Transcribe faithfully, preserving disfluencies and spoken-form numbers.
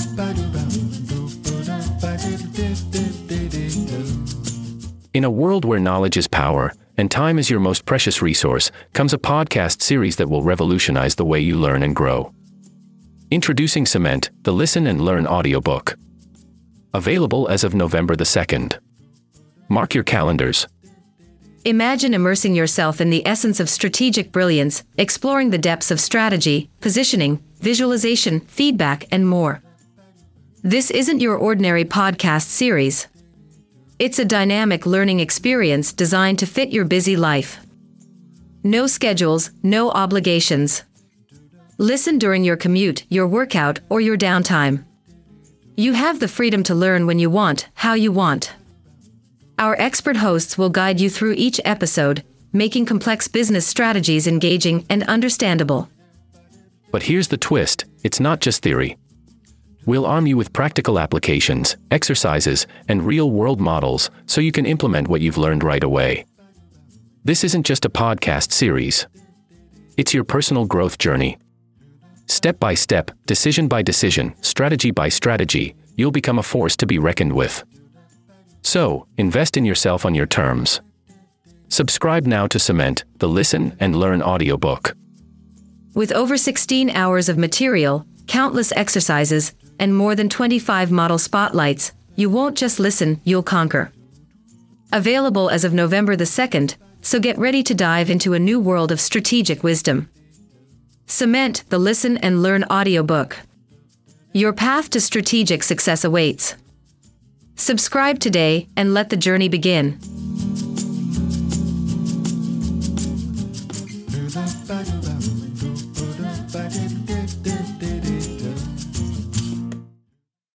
In a world where knowledge is power, and time is your most precious resource, comes a podcast series that will revolutionize the way you learn and grow. Introducing Cement, the Listen and Learn audiobook. Available as of November the second. Mark your calendars. Imagine immersing yourself in the essence of strategic brilliance, exploring the depths of strategy, positioning, visualization, feedback, and more. This isn't your ordinary podcast series. It's a dynamic learning experience designed to fit your busy life. No schedules, no obligations. Listen during your commute, your workout, or your downtime. You have the freedom to learn when you want, how you want. Our expert hosts will guide you through each episode, making complex business strategies engaging and understandable. But here's the twist, it's not just theory. We'll arm you with practical applications, exercises, and real-world models so you can implement what you've learned right away. This isn't just a podcast series. It's your personal growth journey. Step by step, decision by decision, strategy by strategy, you'll become a force to be reckoned with. So, invest in yourself on your terms. Subscribe now to Cement, the Listen and Learn audiobook. With over sixteen hours of material, countless exercises, and more than twenty-five model spotlights, you won't just listen, you'll conquer. Available as of November the second, so get ready to dive into a new world of strategic wisdom. Cement, the Listen and Learn audiobook. Your path to strategic success awaits. Subscribe today and let the journey begin.